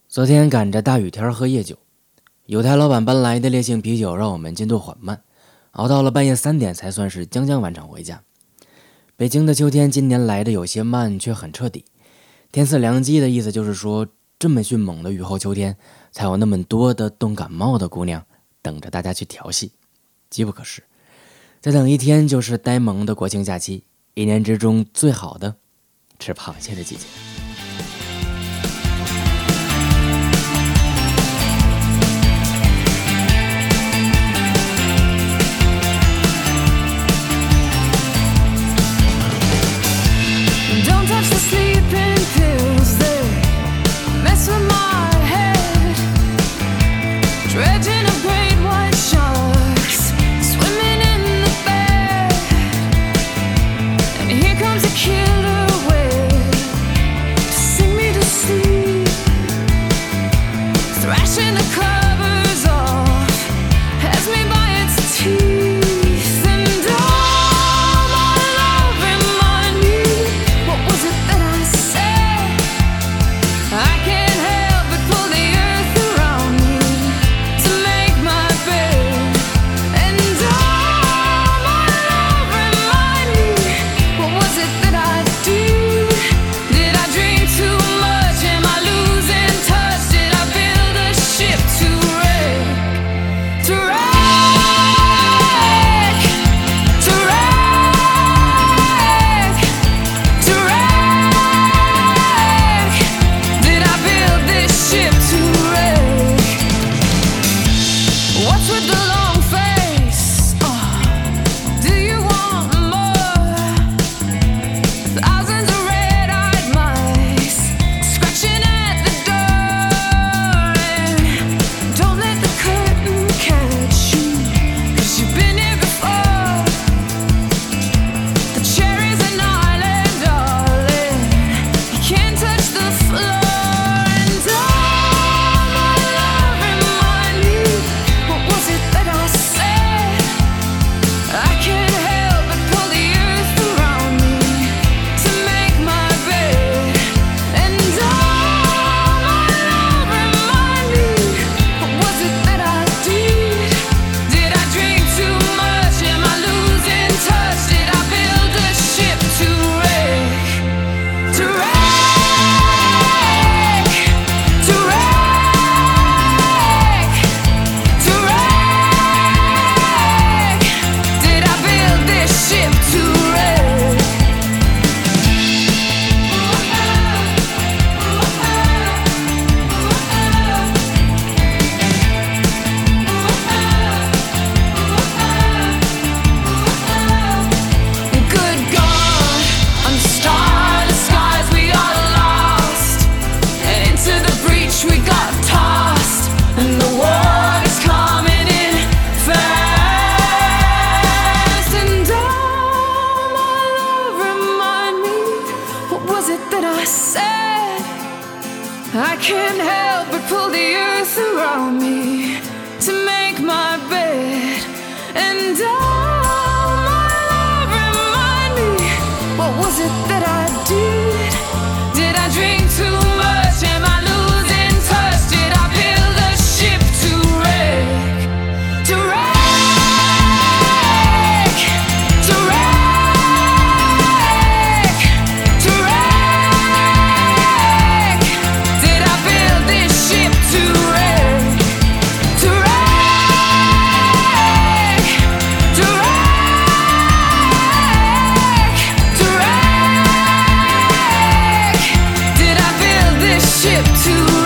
昨天赶着大雨天喝夜酒，有台老板搬来的烈性啤酒让我们进度缓慢，熬到了半夜3点才算是将将完成回家。北京的秋天今年来的有些慢，却很彻底。天赐良机的意思就是说，这么迅猛的雨后秋天，才有那么多的冻感冒的姑娘等着大家去调戏。机不可失，再等一天就是呆萌的国庆假期，一年之中最好的吃螃蟹的季节。 I can't help but pull the earth around me to make my bed. And oh, my love, remind me, what was it that I did? Did I drink too much? Am I losing touch? Did I build a ship to wreck? To wreck? To wreck? To wreck? Did I build this ship to wreck? To wreck? To wreck? To wreck? Did I build this ship to wreck?